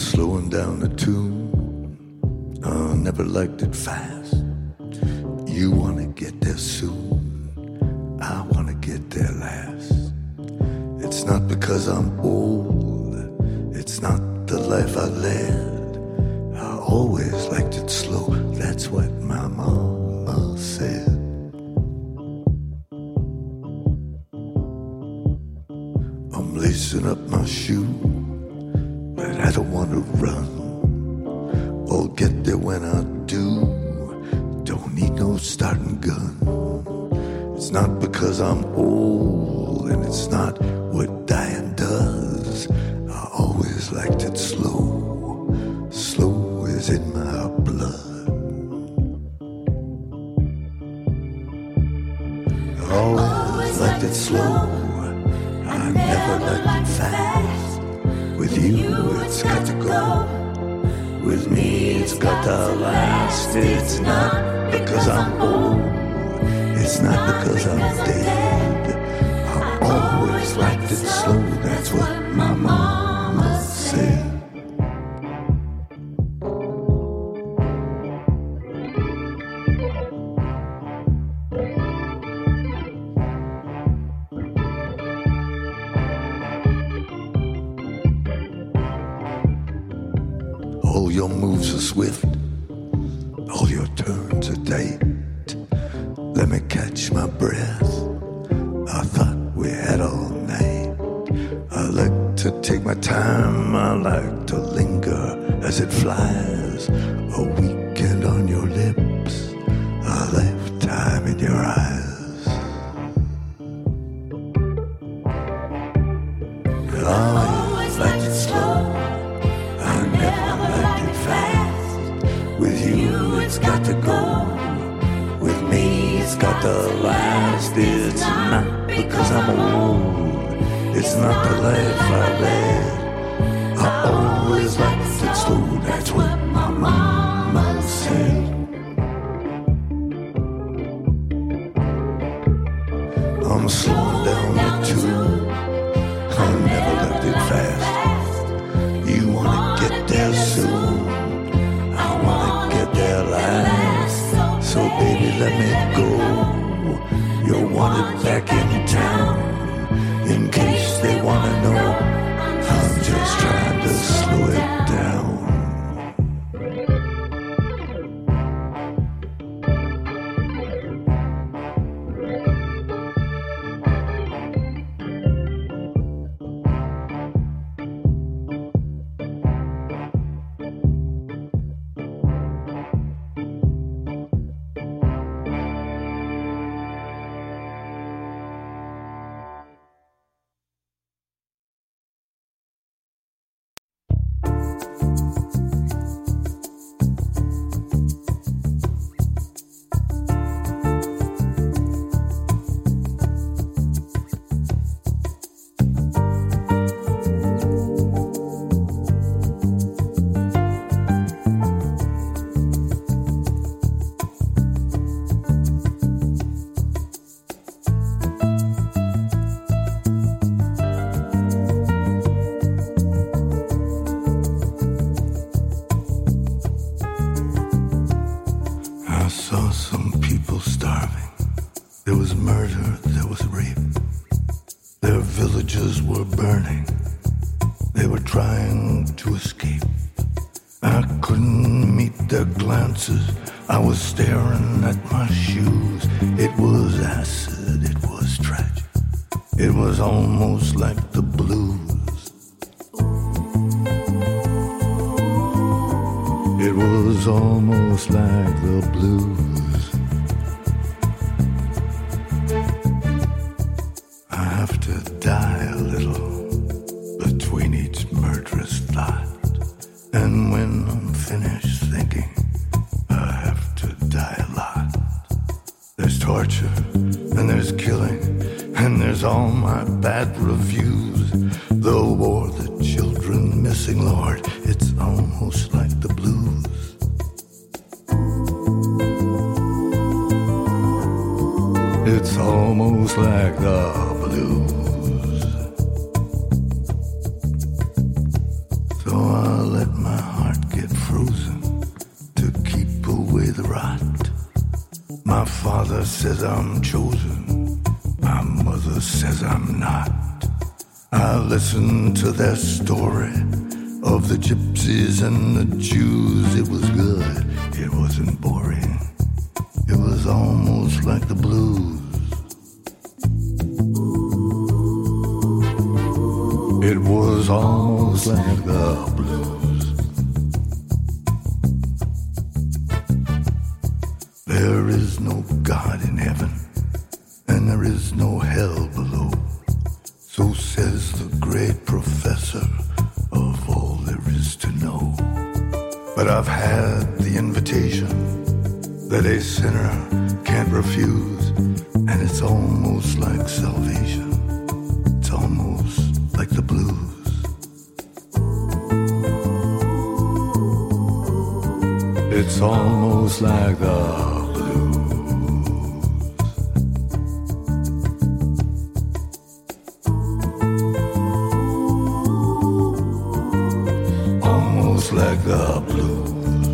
slowing down the tune. I never liked it fast. You wanna get there soon. I wanna get there last. It's not because I'm old. It's not the life I led. I always liked it slow. That's what my mama said. I'm lacing up my shoe, but I don't want to run. I'll get there when I do. Don't need no starting gun. It's not because I'm old, and it's not what dying does. I always liked it slow. Slow is in my blood. I always liked it slow. I never liked it fast. With you, it's got to go. With me, it's got to last. It's not because I'm old. It's not because I'm dead. I always liked it slow. That's what my mama said. All your moves are swift, all your turns are tight. Let me catch my breath. I thought we had all night. I like to take my time, I like to linger as it flies. A weekend on your lips, a lifetime in your eyes. I always liked it slow. I never liked it fast. With you, it's got to go. With me, it's got to last. It's not because I'm old. It's not the life I led. I always liked it slow. That's what my mama said. I'm slowing down the tune. I never liked it fast. You wanna get there soon. I wanna get there last. So baby, let me go. You're wanted back in town. In case they wanna know, I'm just trying to slow it down. I was staring at my shoes. It was acid, it was tragic. It was almost like the blues. It was almost like the blues. I have to die a little between each murderous thought. And when I'm finished thinking, die a lot. There's torture, and there's killing, and there's all my bad reviews. The war, the children missing, Lord, it's almost like the blues. It's almost like the blues. So I let the rot. My father says I'm chosen, my mother says I'm not. I listened to their story of the gypsies and the Jews. It was good, it wasn't boring. It was almost like the blues. It was almost like the blues. There is no God in heaven, and there is no hell below. So says the great professor of all there is to know. But I've had the invitation that a sinner can't refuse, and it's almost like salvation. It's almost like the blues. It's almost like the blues. Almost like the blues.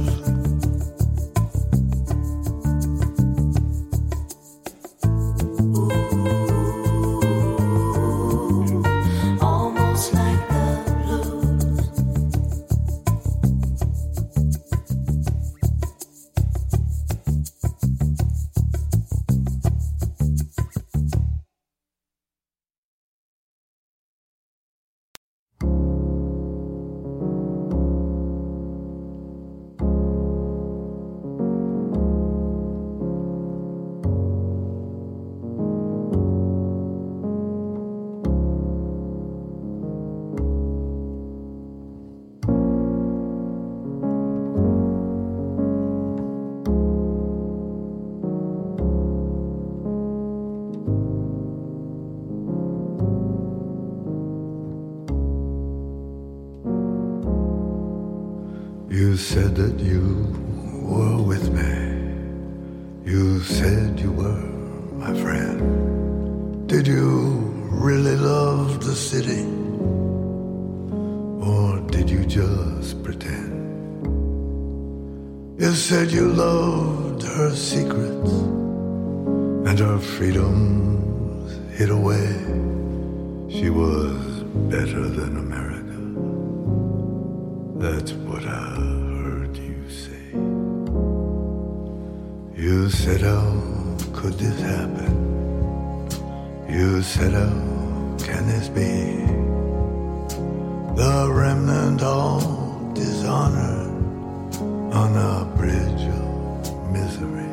You said that you were with me. You said you were my friend. Did you really love the city? Or did you just pretend? You said you loved her secrets and her freedoms hid away. She was better than America. That's what I heard you say. You said, how could this happen? You said, how can this be? The remnant all dishonored on a bridge of misery.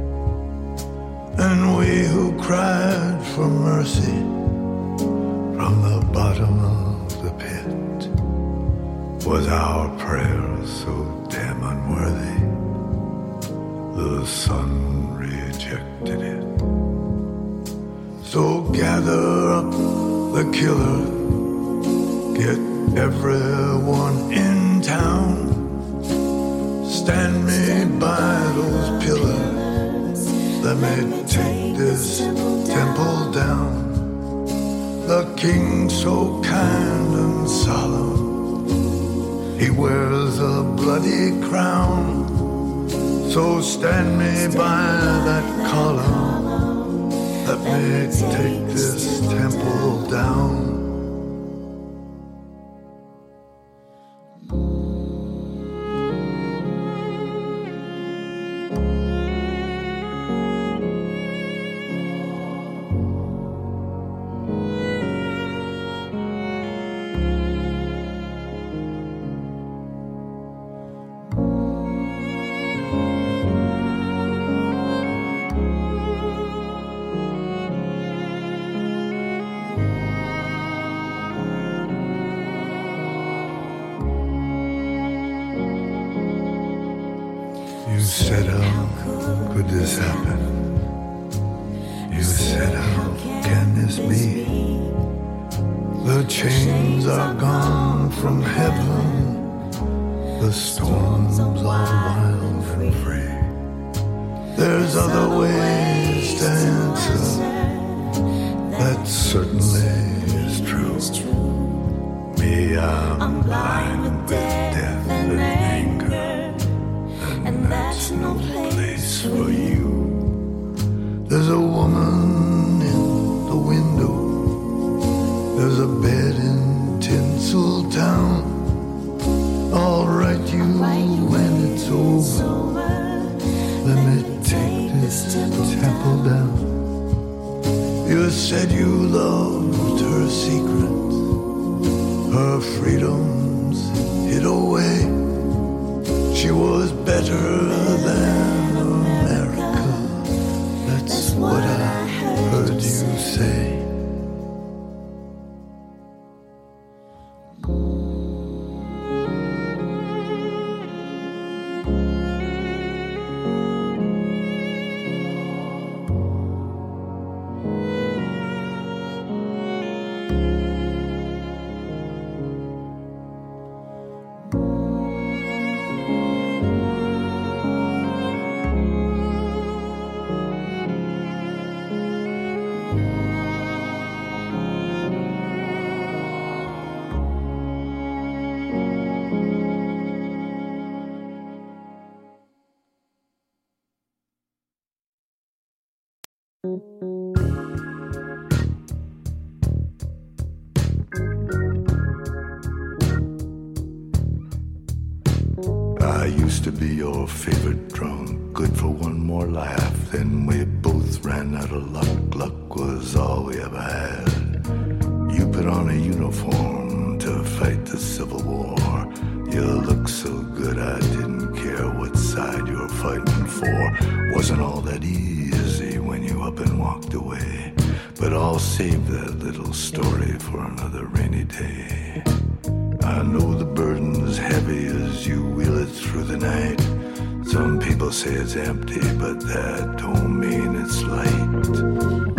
And we who cried for mercy from the bottom of the pit, was our prayer so damn unworthy, the sun rejected it. So gather up the killer, get everyone in town, stand me by those pillars, let me take this temple down. The king so kind and solemn, he wears a bloody crown. So stand me by that column, let me take this temple down. You said, how could this happen? You said, how can this be? The chains are gone from heaven, the storms are wild and free. There's other ways to answer, that certainly is true. Me, I'm blind with death and anger, and that's no place just for you. There's a woman in the window. There's a bed in Tinseltown. I'll write you when it's over. Let me take this temple down. You said you loved her secret, her freedoms hid away. She was better than America. That's what I heard you say. I used to be your favorite drunk, good for one more laugh. Then we both ran out of luck. Luck was all we ever had. You put on a uniform to fight the Civil War. You looked so good I didn't care what side you were fighting for. Wasn't all that easy when you up and walked away. But I'll save that little story for another rainy day. I know the burden's heavy as you wheel it through the night. Some people say it's empty, but that don't mean it's light.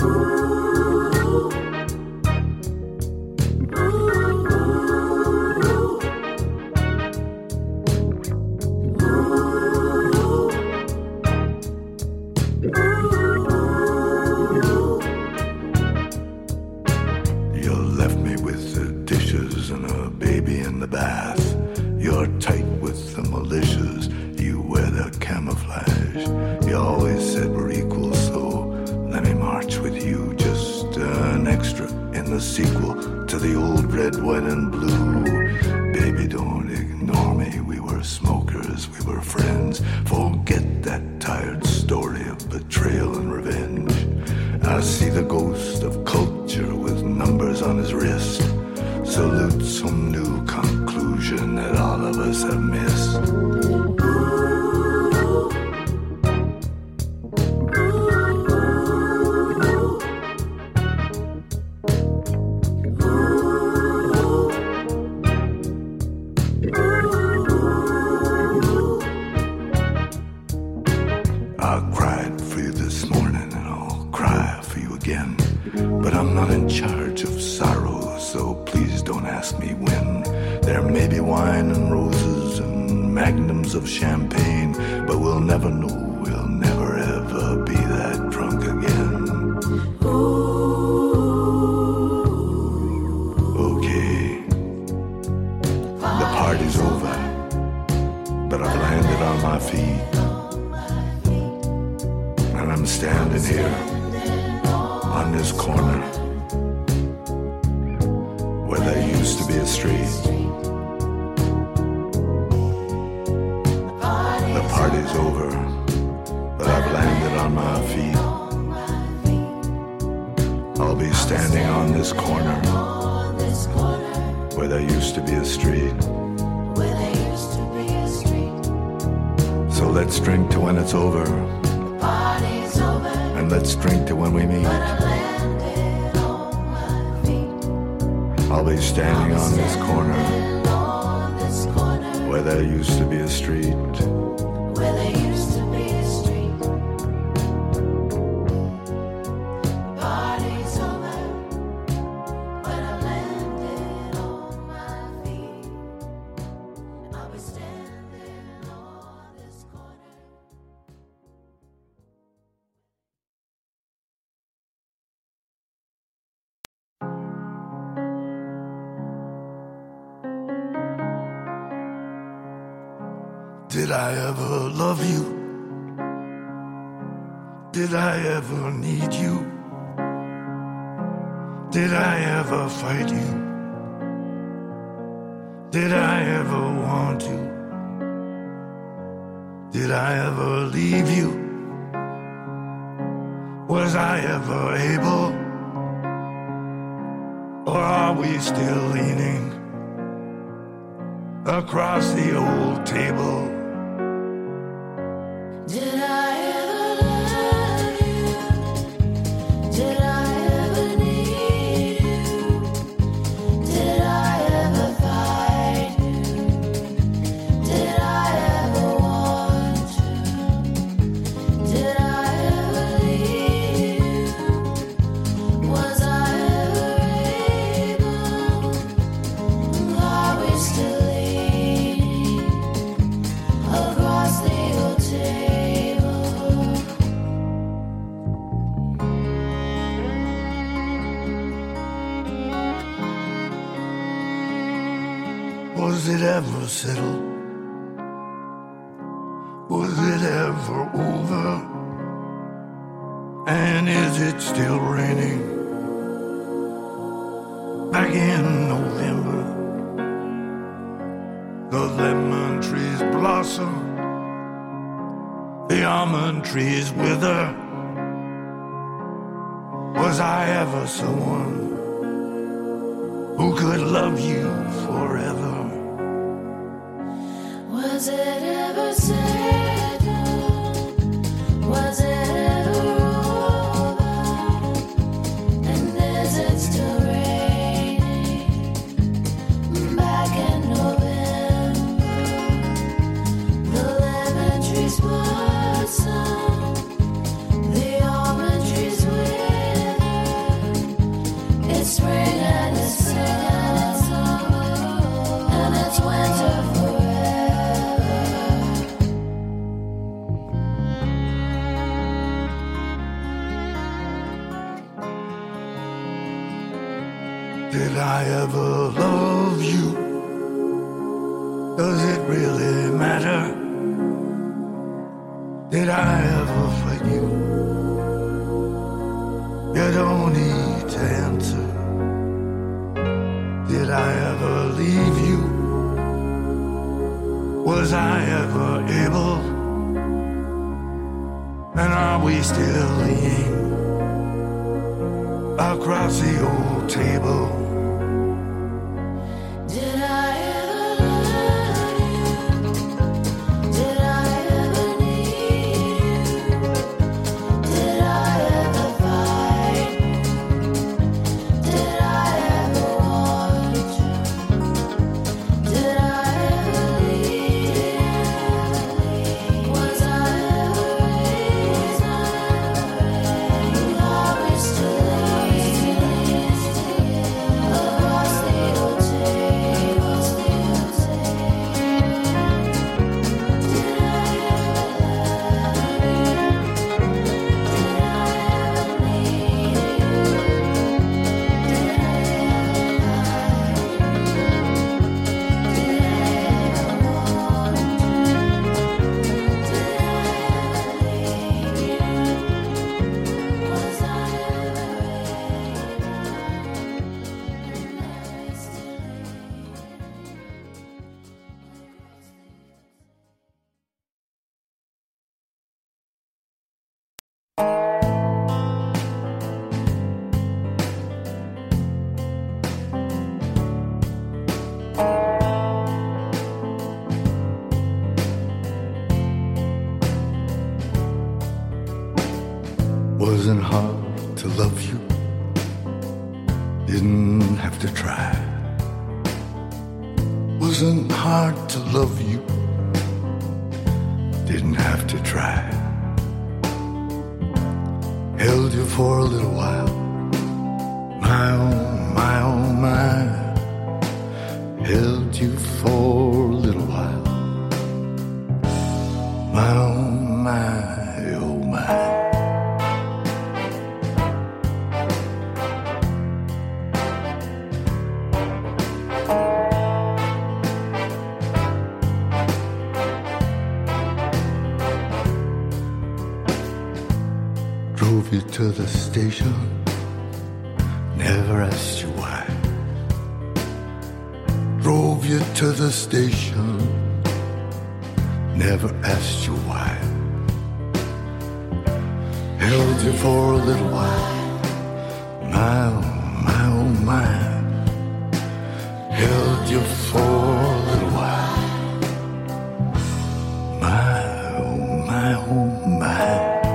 Of champagne, but we'll never know, we'll never ever be that drunk again. Okay, the party's over, but I've landed on my feet, and I'm standing here on this corner where there used to be a street. Party's over, but I've landed on my feet. I'll be standing on this corner where there used to be a street. So let's drink to when it's over, and let's drink to when we meet. I'll be standing on this corner where there used to be a street. Where there used to be a street. The party's over, but I've landed on my feet. I'll be standing on this corner. Did I ever love you? Did I ever need you? Did I ever fight you? Did I ever want you? Did I ever leave you? Was I ever able? Or are we still leaning across the old table? Did I ever love you? Did I ever need you? Did I ever fight you? Did I ever want you? Did I ever leave you? Was I ever able? Are we still leaning across the old table? Was it ever settled? Was it ever over? And is it still raining? Back in November, the lemon trees blossom, the almond trees wither. Was I ever someone who could love you forever? Was it ever settled? Was it ever over? And is it still raining? Back in November, the lemon trees blossom, the almond trees wither. It's spring and it's summer, and it's winter forever. Did I ever love you? Does it really matter? Did I ever fight you? You don't need to answer. Did I ever leave you? Was I ever able? And are we still leaning across the old table? Did I ever love you? Did I ever need you? Did I ever fight you? Did I ever want you? Did I ever leave you? Was I ever raised? Are we still leaning across the old table? Did I ever love you? Did I ever need you? Did I ever fight you? Did I ever want you? Did I ever leave you? Was I ever able? And are we still Wasn't hard to love you. Didn't have to try. Wasn't hard to love you. Didn't have to try. Held you for a little while. My oh, my oh, my. Held you for a little while. My oh, my, oh, my. Drove you to the station, never asked you why. Drove you to the station, never asked you why. Held you for a little while, my oh my oh my. Held you for a little while, my oh my oh my.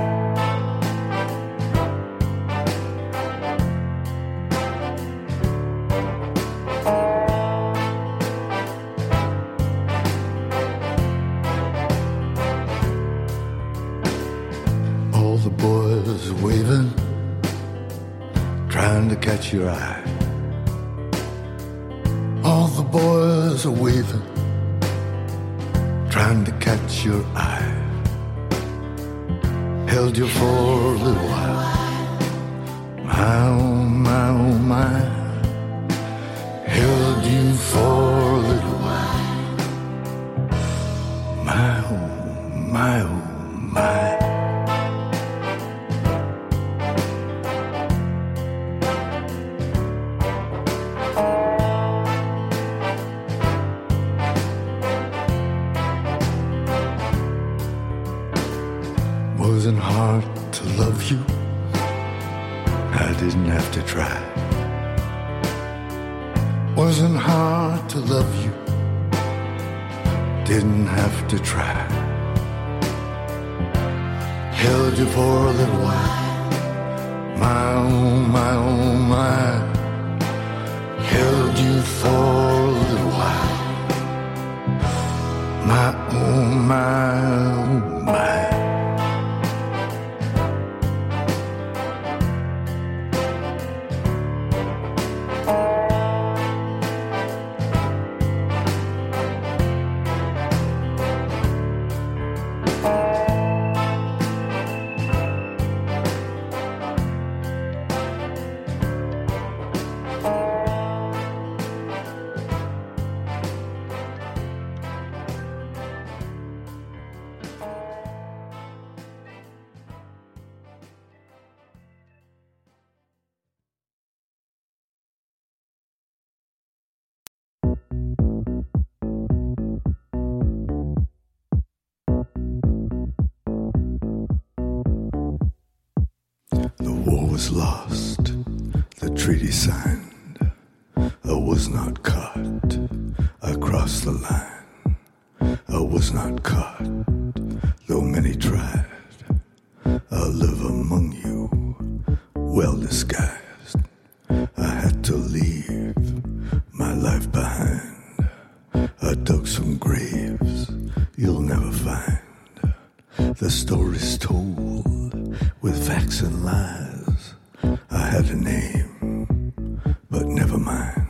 All the boys waving, trying to catch your eye. All the boys are waving, trying to catch your eye. Held you for a little while, my oh my oh my. Held you for a little while, my oh my oh my. Wasn't hard to love you, I didn't have to try. Wasn't hard to love you, didn't have to try. Held you for a little while, my oh my oh my. Held you for a little while, my oh my oh my. The war was lost, the treaty signed. I was not caught, I crossed the line. I was not caught, though many tried. I live among you, well disguised. I had to leave my life behind. I dug some graves you'll never find. The story's told with facts and lies. I had a name, but never mind.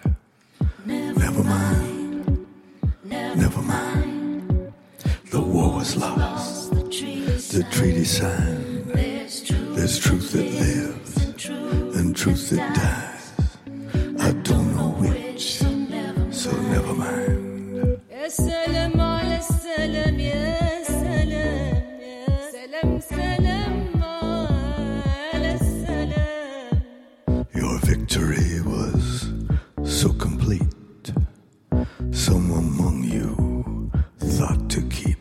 Never mind. Never mind. The war was lost. The treaty signed. There's truth that lives and truth that dies. I don't know which, so never mind. يا سلام على السلام يا سلام يا سلام سلام على السلام. Your victory was so complete. Some among you thought to keep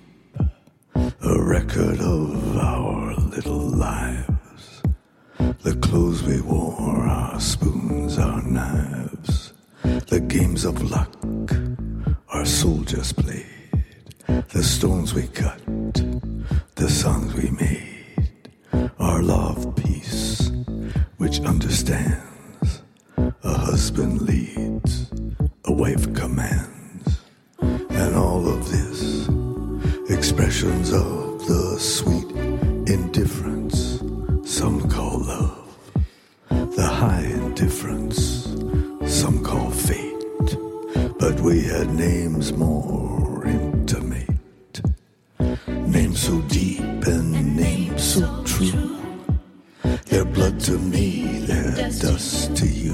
a record of our little lives. The clothes we wore, our spoons, our knives. The games of luck our soldiers played. The stones we cut, the songs we made. Our law of peace, which understands. A husband leads, a wife commands. And all of this, expressions of the sweet indifference some call love. The high indifference some call fate. But we had names more intimate. Names so deep and names so true. Their blood to me, their dust to you.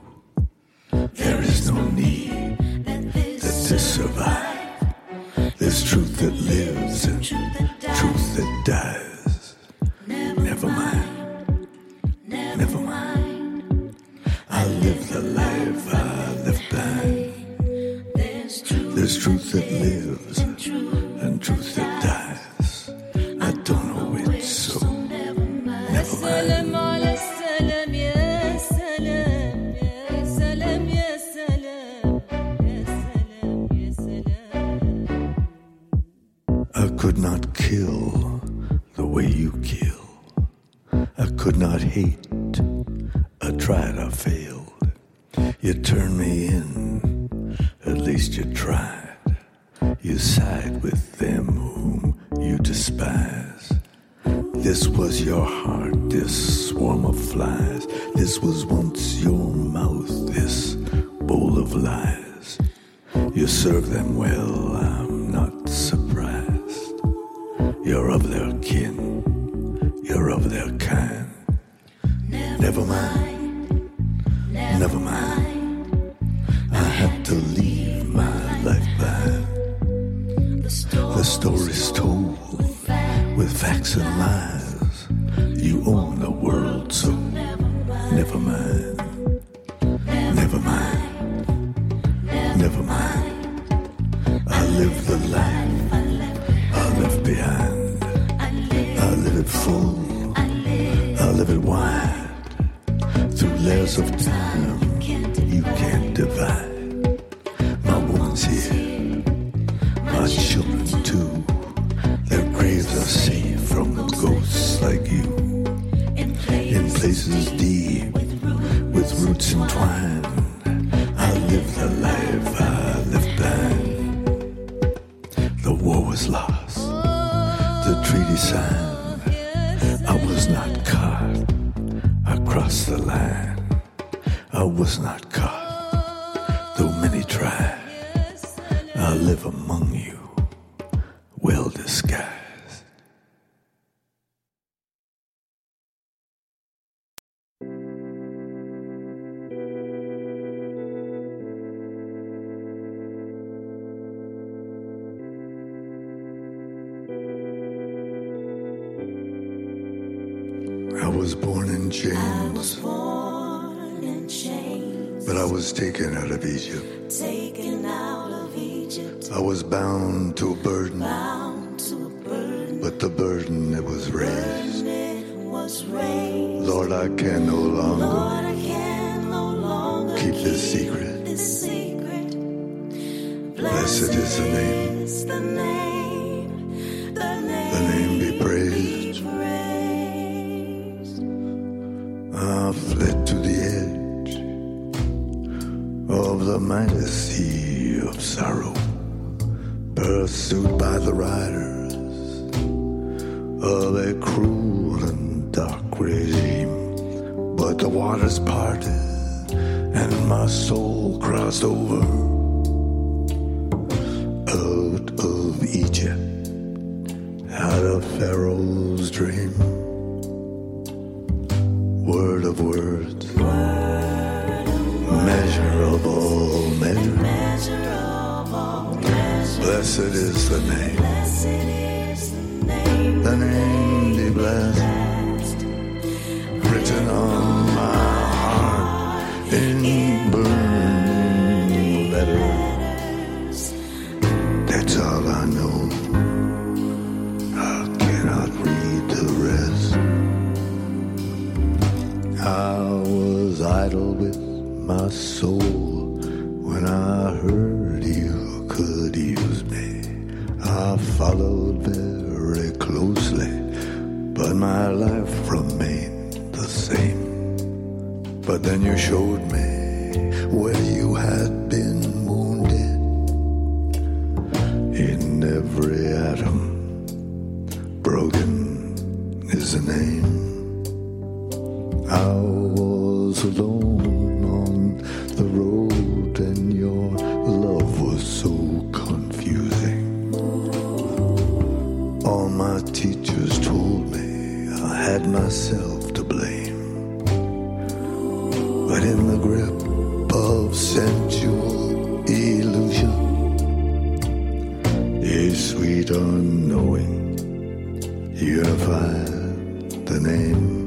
There is no need that this survive. There's truth that lives and truth that dies. Never mind. that lives and truth that dies. I don't know it, so never mind. Selam ala selam ya selam ya selam ya selam ya selam ya selam. I could not kill the way you kill. I could not hate. I tried, I failed. You turned me in, at least you tried. You side with them whom you despise. This was your heart, this swarm of flies. This was once your mouth, this bowl of lies. You serve them well, I'm not surprised. You're of their kin, you're of their kind. Never mind, never mind. I had to leave my life behind. The story's told with facts and lies. You own the world, so never mind. Never mind, never mind. I live the life I left behind. I live it full, I live it wide. Through layers of time you can't divide. My woman's here, my children too. Their graves are safe from ghosts like you. In places deep, with roots entwined, I live the life I left behind. The war was lost, the treaty signed. I was not caught, I crossed the line. I was not caught, though many tried. I live among you, well disguised. I was born in chains, but I was taken out of Egypt. I was bound to a burden, but the burden it was raised. Lord, I can no longer keep this secret. Blessed is the name, the name be praised. I fled to the edge of the mighty sea of sorrow, pursued by the riders of a cruel and dark regime. But the waters parted and my soul crossed over out of Egypt, out of Pharaoh's dream. Word of words, measure of all measures. Blessed is the name, the name be blessed, written on my heart in burning letters. That's all I know, I cannot read the rest. I was idle with my soul when I heard you could use me. I followed very closely, but my life remained the same. But then you showed me where you had been wounded. In every atom, broken is the name. I was alone on the road and your love was so confusing. All my teachers told me I had myself to blame. But in the grip of sensual illusion, a sweet unknowing unified the name.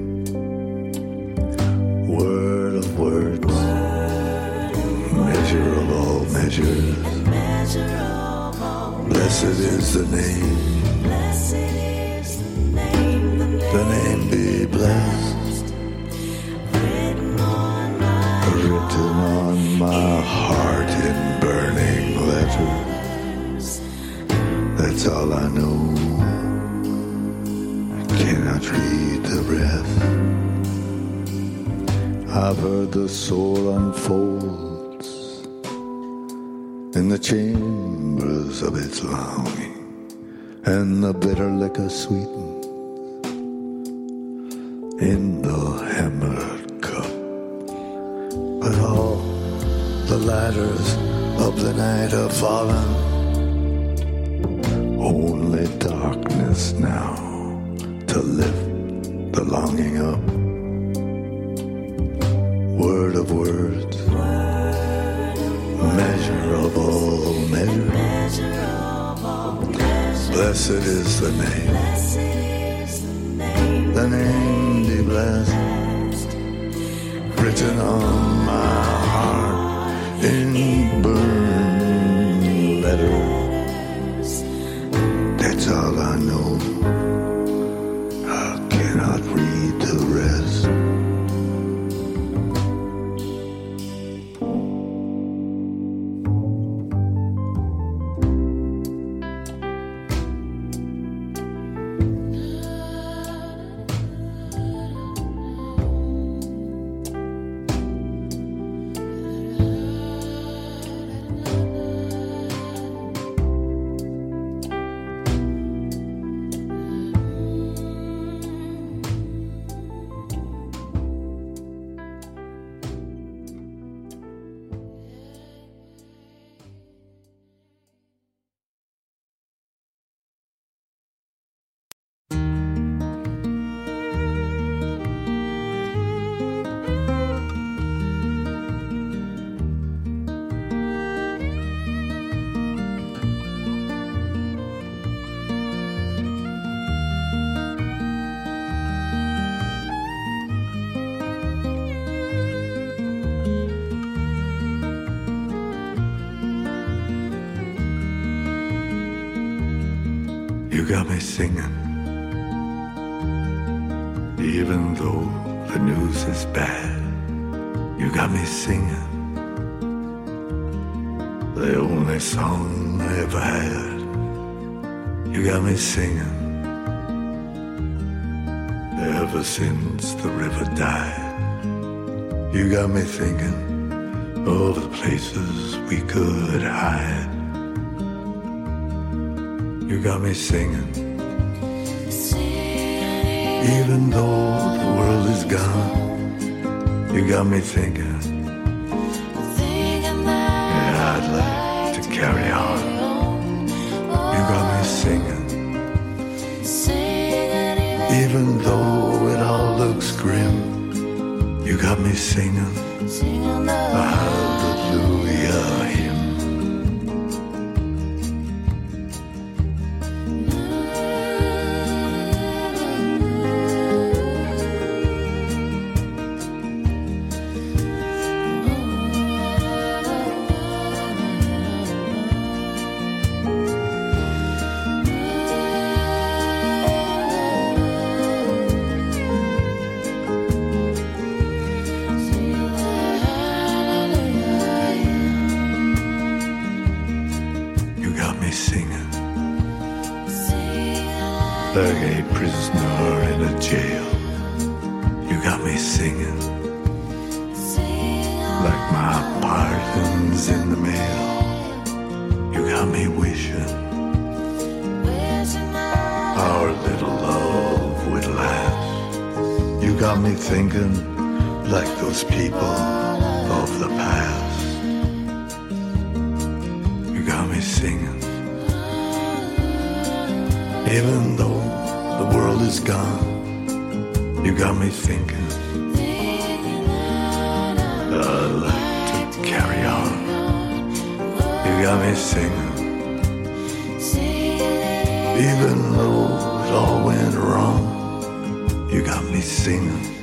Word of words, measure of all measures. Blessed is the name. Blessed is the name. The name be blessed. Written on my heart in burning letters. That's all I know. I cannot read the rest. I've heard the soul unfolds in the chambers of its longing, and the bitter liquor sweetens in the hammered cup. But all the ladders of the night have fallen. Only darkness now to lift the longing up. Word of words, measure of all measures. Blessed is the name. The name be blessed. Written on my heart in burning letters. That's all I know. I cannot read the rest. You got me singing, even though the news is bad. You got me singing, the only song I ever had. You got me singing, ever since the river died. You got me thinking of the places we could hide. You got me singing, even though the world is gone. You got me thinking, yeah, I'd like to carry on. You got me singing, even though it all looks grim. You got me singing a hallelujah hymn. Like a prisoner in a jail. You got me singing, like my pardon's in the mail. You got me wishing our little love would last. You got me thinking like those people of the past. You got me singing, even though the world is gone. You got me thinking, I'd like to carry on. You got me singing, even though it all went wrong. You got me singing.